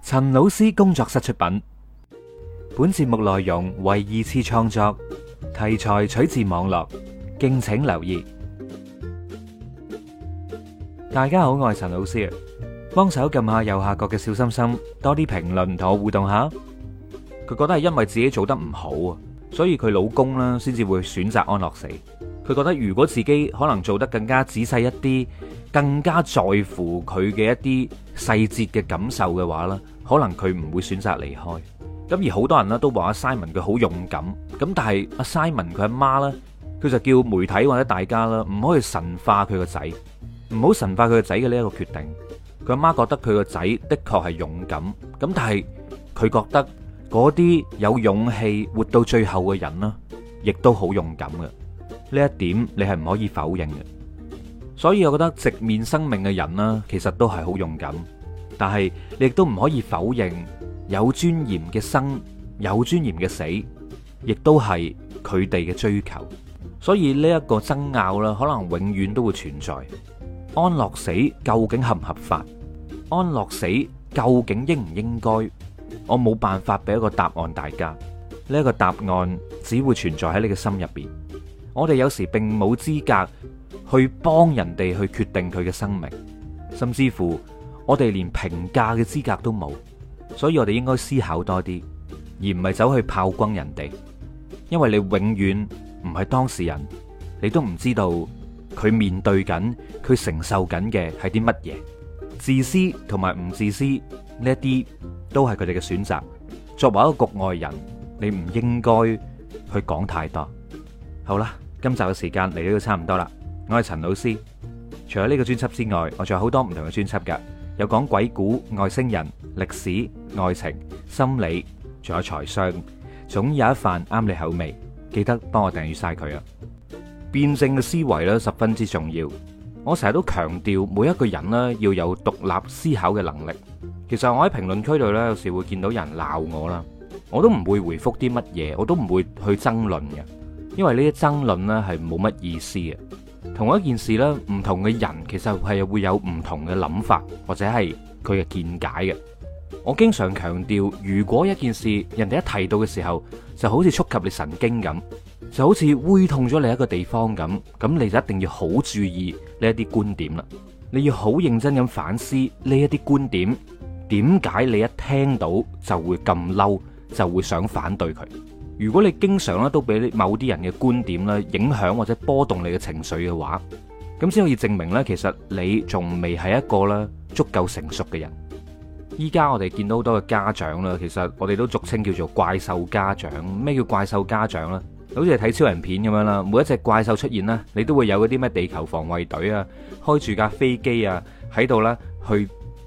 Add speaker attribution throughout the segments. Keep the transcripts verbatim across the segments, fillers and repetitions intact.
Speaker 1: 陳老師工作室出品，本節目內容為二次創作，題材取自網絡，敬請留意。大家好，我係陳老師啊，幫手撳下右下角嘅小心心，多啲評論同我互動下。佢覺得係因為自己做得唔好啊，所以佢老公啦先至會選擇安樂死。佢覺得如果自己可能做得更加仔細一啲，更加在乎佢嘅一啲細節嘅感受嘅話啦，可能佢唔會選擇離開。咁而好多人呢都話阿 Simon 佢好勇敢，咁但係阿 Simon 佢阿媽呢，佢就叫媒體或者大家啦，唔可以神化佢個仔，唔好神化佢個仔嘅呢一個決定。佢阿媽覺得佢個仔的確係勇敢，咁但係佢覺得嗰啲有勇氣活到最後嘅人啦，亦都好勇敢嘅。呢一點你係唔可以否認嘅。所以我覺得直面生命嘅人啦，其實都係好勇敢，但係你亦都唔可以否認有尊嚴嘅生，有尊嚴嘅死，亦都係佢哋嘅追求。所以呢一個爭拗啦，可能永遠都會存在。安樂死究竟合唔合法？安樂死究竟應唔應該？我冇辦法俾一個答案大家。呢一個答案只會存在喺你嘅心入邊。我哋有時並冇資格去幫人哋去決定佢嘅生命，甚至乎我哋連評價嘅資格都冇。所以我哋應該思考多啲，而唔係走去炮轟人哋。因為你永遠唔係當事人，你都唔知道佢面對緊，佢承受緊嘅係啲乜嘢。自私同埋唔自私呢一啲都係佢哋嘅選擇。作為一個局外人，你唔應該去講太多。好啦，今集嘅時間嚟到都差唔多啦。我係陳老師，除咗呢個專輯之外，我仲有好多唔同嘅專輯噶，有講鬼故、外星人、歷史、愛情、心理，仲有財商，總有一瓣啱你口味。記得幫我訂閱晒佢啊！辯證嘅思維咧十分之重要。我成日都強調，每一個人咧要有獨立思考嘅能力。其實我喺評論區度咧，有時會見到人鬧我啦，我都唔會回覆啲乜嘢，我都唔會去爭論嘅。因為呢啲爭論呢係冇乜意思嘅。同一件事呢，唔同嘅人其實係會有唔同嘅諗法，或者係佢嘅見解嘅。我經常強調，如果一件事人哋一提到嘅時候，就好似觸及你神經咁，就好似痠痛咗你一個地方咁，咁你就一定要好注意呢一啲觀點啦。你要好認真咁反思呢一啲觀點，點解你一聽到就會咁嬲，就會想反對佢。如果你經常咧都俾某啲人嘅觀點咧影響或者波動你嘅情緒嘅話，咁先可以證明咧，其實你仲未係一個咧足夠成熟嘅人。依家我哋見到好多嘅家長啦，其實我哋都俗稱叫做怪獸家長。咩叫怪獸家長呢？好似係睇超人片咁樣啦，每一隻怪獸出現啦，你都會有嗰啲咩地球防衛隊啊，開住架飛機啊喺度啦去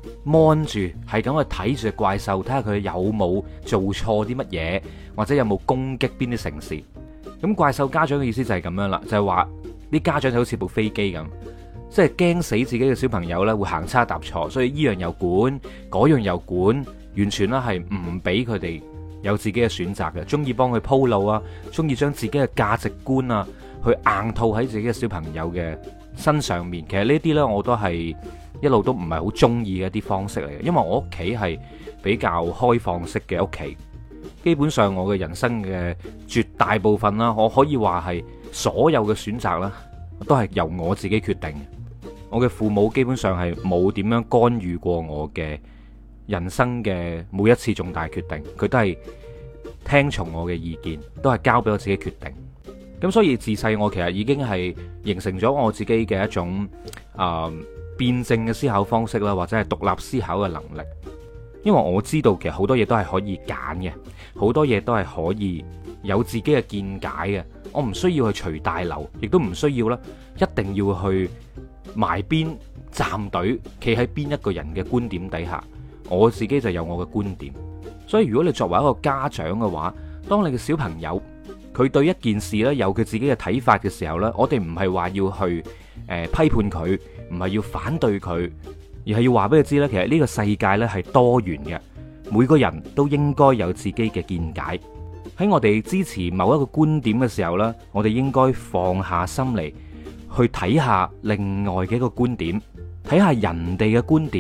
Speaker 1: mon住，係咁去睇住隻怪獸，睇下佢有冇做錯啲乜嘢，或者有冇攻擊邊啲城市。咁怪獸家長嘅意思就係咁樣啦，就係話啲家長就好似部飛機咁，即係驚死自己嘅小朋友咧會行差踏錯，所以依樣又管，嗰樣又管，完全咧係唔俾佢哋有自己嘅選擇嘅，中意幫佢鋪路啊，中意將自己嘅價值觀啊去硬套喺自己嘅小朋友嘅身上面。其實呢啲呢，我都係一路都唔係好中意嘅一啲方式嚟嘅，因為我屋企係比較開放式嘅屋企，基本上我嘅人生嘅絕大部分啦，我可以話係所有嘅選擇啦，都係由我自己決定。我嘅父母基本上係冇點樣干預過我嘅人生嘅每一次重大決定，佢都係聽從我嘅意見，都係交俾我自己決定。咁所以自細我其實已經係形成咗我自己嘅一種啊、呃、辯證嘅思考方式啦，或者係獨立思考嘅能力。因為我知道其實好多嘢都係可以揀嘅，好多嘢都係可以有自己嘅見解嘅。我唔需要去隨大流，亦都唔需要啦，一定要去埋邊站隊，企喺邊一個人嘅觀點底下。我自己就有我嘅觀點。所以如果你作為一個家長嘅話，當你嘅小朋友佢對一件事咧有佢自己嘅睇法嘅時候呢，我哋唔係話要去誒、呃、批判佢，唔係要反對佢，而係要話俾佢知呢，其實呢個世界呢係多元嘅，每個人都應該有自己嘅見解。喺我哋支持某一個觀點嘅時候呢，我哋應該放下心嚟去睇下另外嘅一個觀點，睇下人哋嘅觀點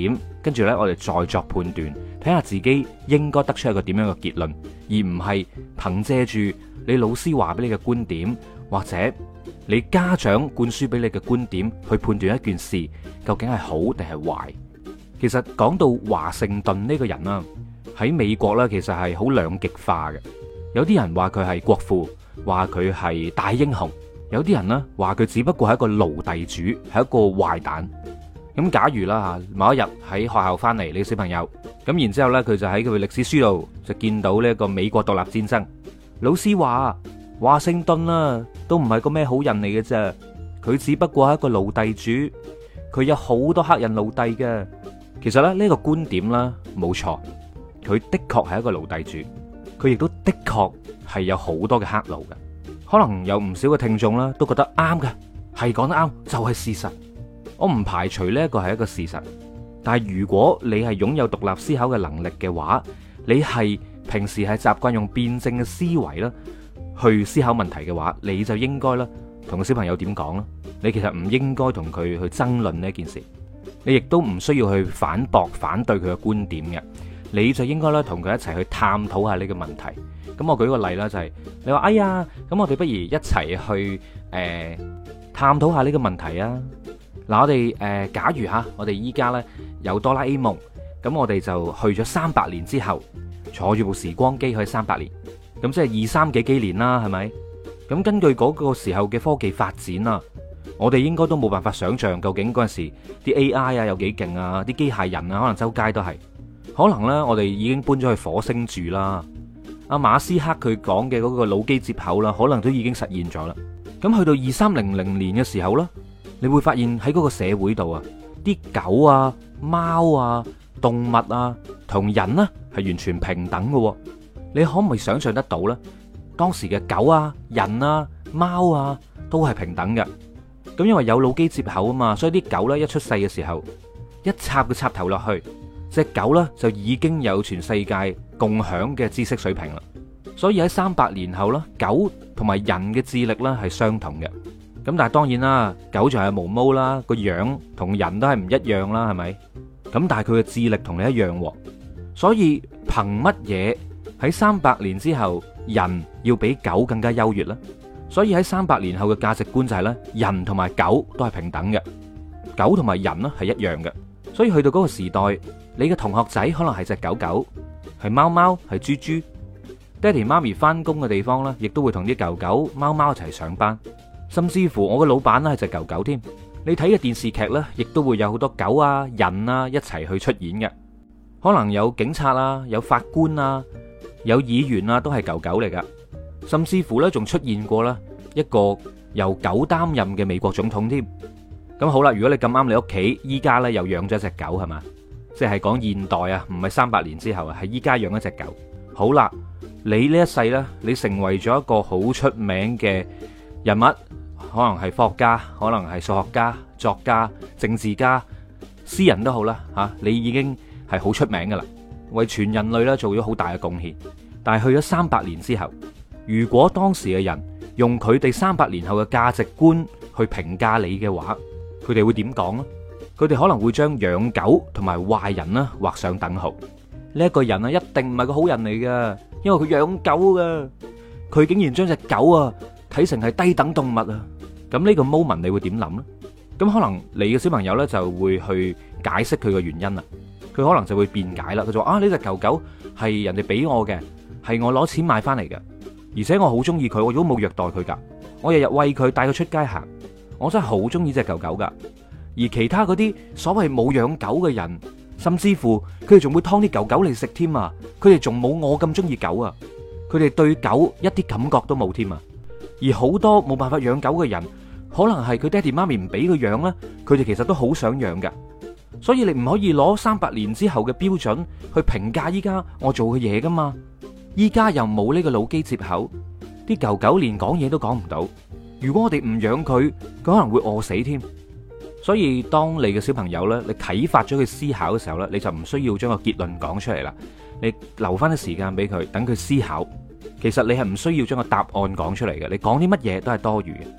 Speaker 1: 跟住呢，我哋再作判斷，睇下自己應該得出一個點樣嘅結論，而唔係憑借住你老師話俾你嘅觀點，或者你家長灌輸俾你嘅觀點去判斷一件事究竟係好定係壞。其實講到華盛頓呢個人啦，喺美國呢，其實係好兩極化嘅。有啲人話佢係國父，話佢係大英雄；有啲人呢話佢只不過係一個奴隸主，係一個壞蛋。咁假如啦吓，某一日喺學校翻嚟，你小朋友咁，然之後咧佢就喺佢歷史書度就見到呢一個美國獨立戰爭。老師話華盛頓啊，都唔係個咩好人嚟嘅啫，佢只不過係一個奴隸主，佢有好多黑人奴隸嘅。其實咧呢個觀點啦冇錯，佢的確係一個奴隸主，佢亦都的確係有好多嘅黑奴嘅。可能有唔少嘅聽眾啦都覺得啱嘅，係講得啱，就係事實。我唔排除呢一個係一個事實，但係如果你係擁有獨立思考嘅能力嘅話，你係平時係習慣用辯證嘅思維啦去思考問題嘅話，你就應該啦同個小朋友點講啦。你其實唔應該同佢去爭論呢件事，你亦都唔需要去反駁反對佢嘅觀點嘅，你就應該咧同佢一齊去探討下呢個問題。咁我舉個例啦，就係你話哎呀，咁我哋不如一齊去誒探討下呢個問題啊。嗱，我哋誒，假如吓，我哋依家咧有哆啦 A 夢，咁我哋就去咗三百年之後，坐住部時光機去三百年，咁即係二三幾幾年啦，係咪？咁根據嗰個時候嘅科技發展啊，我哋應該都冇辦法想象究竟嗰陣時啲 A I 啊有幾勁啊，啲機械人啊可能周街都係，可能咧我哋已經搬咗去火星住啦。阿馬斯克佢講嘅嗰個腦機接口啦，可能都已經實現咗啦。咁去到二三零零年嘅時候啦，你會發現喺嗰個社會度啊，啲狗啊、貓啊、動物啊，同人呢係完全平等嘅。你可唔可以想象得到呢？當時嘅狗啊、人啊、貓啊都係平等嘅。咁因為有腦機接口啊嘛，所以啲狗呢一出世嘅時候，一插個插頭落去，隻狗呢就已經有全世界共享嘅知識水平啦。所以喺三百年後啦，狗同埋人嘅智力呢係相同嘅。咁但係當然啦，狗就係毛毛啦，個樣同人都係唔一樣啦，係咪？咁但係佢嘅智力同你一樣，所以憑乜嘢喺三百年之後人要比狗更加優越呢？所以喺三百年後嘅價值觀就係咧，人同埋狗都係平等嘅，狗同埋人呢係一樣嘅。所以去到嗰個時代，你嘅同學仔可能係隻狗狗，係貓貓，係豬豬。爹哋媽咪翻工嘅地方呢，亦都會同啲狗狗、貓貓一齊上班。甚至乎我嘅老闆咧係隻狗狗添，你睇嘅電視劇呢，亦都會有好多狗啊、人啊一齊去出演嘅。可能有警察啊、有法官啊、有議員啊，都係狗狗嚟噶。甚至乎呢，仲出現過啦一個由狗擔任嘅美國總統添。咁好啦，如果你咁啱你屋企依家呢又養咗一隻狗係嘛，即係講現代啊，唔係三百年之後啊，係依家養一隻狗。好啦，你呢一世呢，你成為咗一個好出名嘅人物。可能係科學家，可能係數學家、作家、政治家、詩人都好啦吓，你已經係好出名噶啦，為全人類咧做咗好大嘅貢獻。但係去咗三百年之後，如果當時嘅人用佢哋三百年後嘅價值觀去評價你嘅話，佢哋會點講呢？佢哋可能會將養狗同埋壞人啦畫上等號。呢一個人啊，一定唔係個好人嚟噶，因為佢養狗噶，佢竟然將隻狗啊睇成係低等動物啊！咁呢個 moment 你會點諗呢？咁可能你嘅小朋友呢就會去解釋佢嘅原因啦。佢可能就會辯解啦。佢就話啊，呢隻狗狗係人哋俾我嘅，係我攞錢買翻嚟嘅，而且我好中意佢，我如果冇虐待佢噶，我日日餵佢，帶佢出街行，我真係好中意隻狗狗噶。而其他嗰啲所謂冇養狗嘅人，甚至乎佢哋仲會劏啲狗狗嚟食添啊！佢哋仲冇我咁中意狗啊！佢哋對狗一啲感覺都冇添啊！而好多冇辦法養狗嘅人，可能係佢爹哋媽咪唔俾佢養啦，佢哋其實都好想養噶。所以你唔可以攞三百年之後嘅標準去評價依家我做嘅嘢噶嘛。依家又冇呢個腦機接口，啲狗狗連講嘢都講唔到。如果我哋唔養佢，佢可能會餓死添。所以當你嘅小朋友呢，你啟發咗佢思考嘅時候呢，你就唔需要將個結論講出嚟啦，你留翻啲時間俾佢，等佢思考。其實你係唔需要將個答案講出嚟嘅，你講啲乜嘢都係多餘嘅。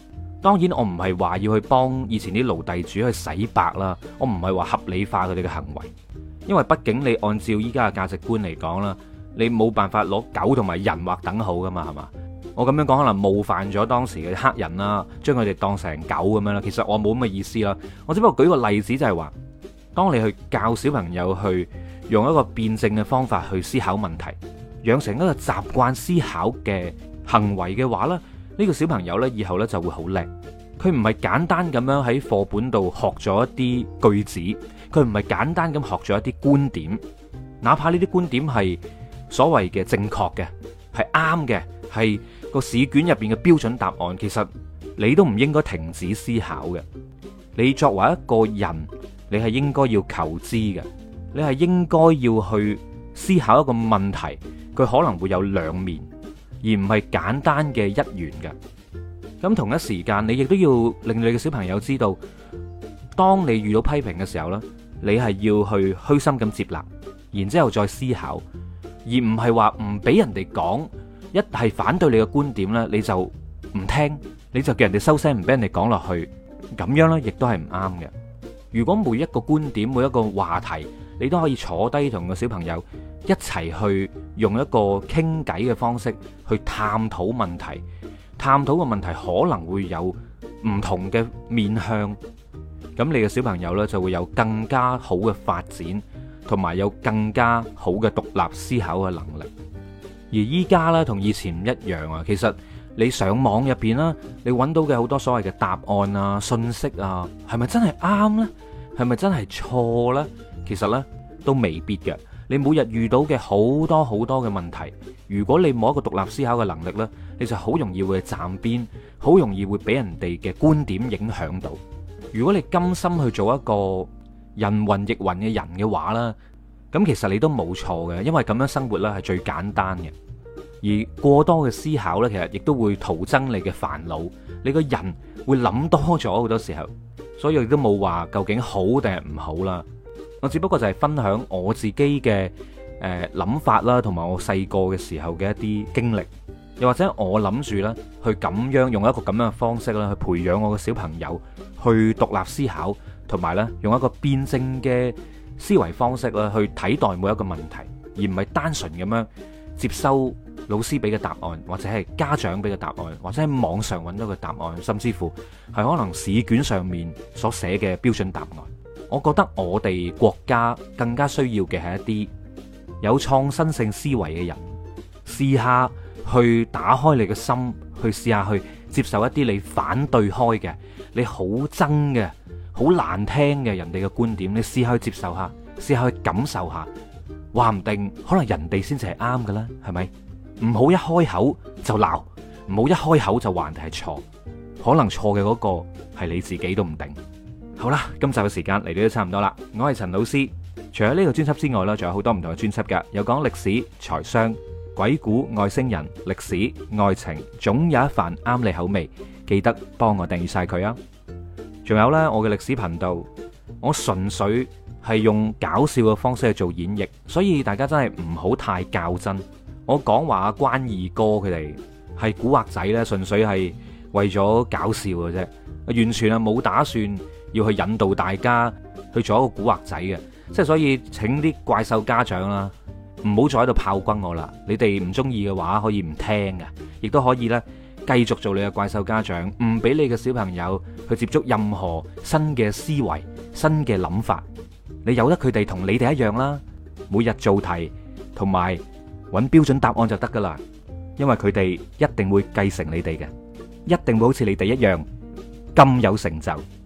Speaker 1: 當然我唔係話要去幫以前啲奴隸主去洗白啦，我唔係話合理化佢哋嘅行為，因為畢竟你按照依家嘅價值觀嚟講啦，你冇辦法攞狗同埋人劃等號噶嘛，係嘛？我咁樣講可能冒犯咗當時嘅黑人啦，將佢哋當成狗咁樣啦。其實我冇咁嘅意思啦，我只不過舉個例子就係話，當你去教小朋友去用一個辯證嘅方法去思考問題，養成一個習慣思考嘅行為嘅話咧，呢個小朋友呢，以後呢就會好叻。佢唔係簡單咁樣喺課本度學咗一啲句子，佢唔係簡單咁學咗一啲觀點，哪怕呢啲觀點係所謂嘅正確嘅，係啱嘅，係個試卷入邊嘅標準答案，其實你都唔應該停止思考嘅。你作為一個人，你係應該要求知嘅，你係應該要去思考一個問題，佢可能會有兩面，而唔係簡單嘅一元嘅。咁同一時間，你亦都要令你嘅小朋友知道，當你遇到批評嘅時候呢，你係要去虛心咁接納，然之後再思考，而唔係話唔俾人哋講，一係反對你嘅觀點呢，你就唔聽，你就叫人哋收聲，唔俾人哋講落去，咁樣呢亦都係唔啱嘅。如果每一個觀點、每一個話題，你都可以坐低同個小朋友一齊去用一個傾偈嘅方式去探討問題。探討嘅問題可能會有唔同嘅面向，咁你嘅小朋友呢就會有更加好嘅發展，同埋有更加好嘅獨立思考嘅能力。而依家呢，同以前唔一樣啊，其實你上網入邊啦，你揾到嘅好多所謂嘅答案啊、信息啊，係咪真係啱呢？係咪真係錯呢？其實呢，都未必嘅。你每日遇到嘅好多好多嘅問題，如果你冇一個獨立思考嘅能力呢，你就好容易會站邊，好容易會俾人哋嘅觀點影響到。如果你甘心去做一個人云亦云嘅人嘅話啦，咁其實你都冇錯嘅，因為咁樣生活呢係最簡單嘅。而過多嘅思考呢，其實亦都會徒增你嘅煩惱，你個人會諗多咗好多時候，所以亦都冇話究竟好定係唔好啦。我只不過就係分享我自己嘅誒諗法啦，同埋我細個嘅時候嘅一啲經歷，又或者我諗住咧去咁樣用一個咁樣嘅方式啦，去培養我嘅小朋友去獨立思考，同埋咧用一個辯證嘅思維方式啦，去睇待每一個問題，而唔係單純咁樣接收老師俾嘅答案，或者係家長俾嘅答案，或者喺網上揾到嘅答案，甚至乎係可能試卷上面所寫嘅標準答案。我覺得我哋國家更加需要嘅係一啲有創新性思維嘅人，試下去打開你嘅心，去試下去接受一啲你反對開嘅、你好憎嘅、好難聽嘅人哋嘅觀點，你試下去接受下，試下去感受下，話唔定可能人哋先至係啱㗎啦，係咪？唔好一開口就鬧，唔好一開口就話人哋係錯，可能錯嘅嗰個係你自己都唔定。好啦，今集嘅時間嚟到都差唔多啦。我係陳老師，除咗呢個專輯之外呢，仲有好多唔同嘅專輯噶，有講歷史、財商、鬼故、外星人、歷史、愛情，總有一瓣啱你口味。記得幫我訂閱晒佢啊！仲有呢，我嘅歷史頻道，我純粹係用搞笑嘅方式去做演繹，所以大家真係唔好太較真。我講話阿關二哥佢哋係古惑仔呢，純粹係為咗搞笑嘅啫，完全係冇打算要去引導大家去做一個古惑仔嘅，即係所以請啲怪獸家長啦，唔好再喺度炮轟我啦。你哋唔中意嘅話，可以唔聽嘅，亦都可以呢繼續做你嘅怪獸家長，唔俾你嘅小朋友去接觸任何新嘅思維、新嘅諗法。你由得佢哋同你哋一樣啦，每日做題同埋揾標準答案就得噶啦，因為佢哋一定會繼承你哋嘅，一定會好似你哋一樣咁有成就。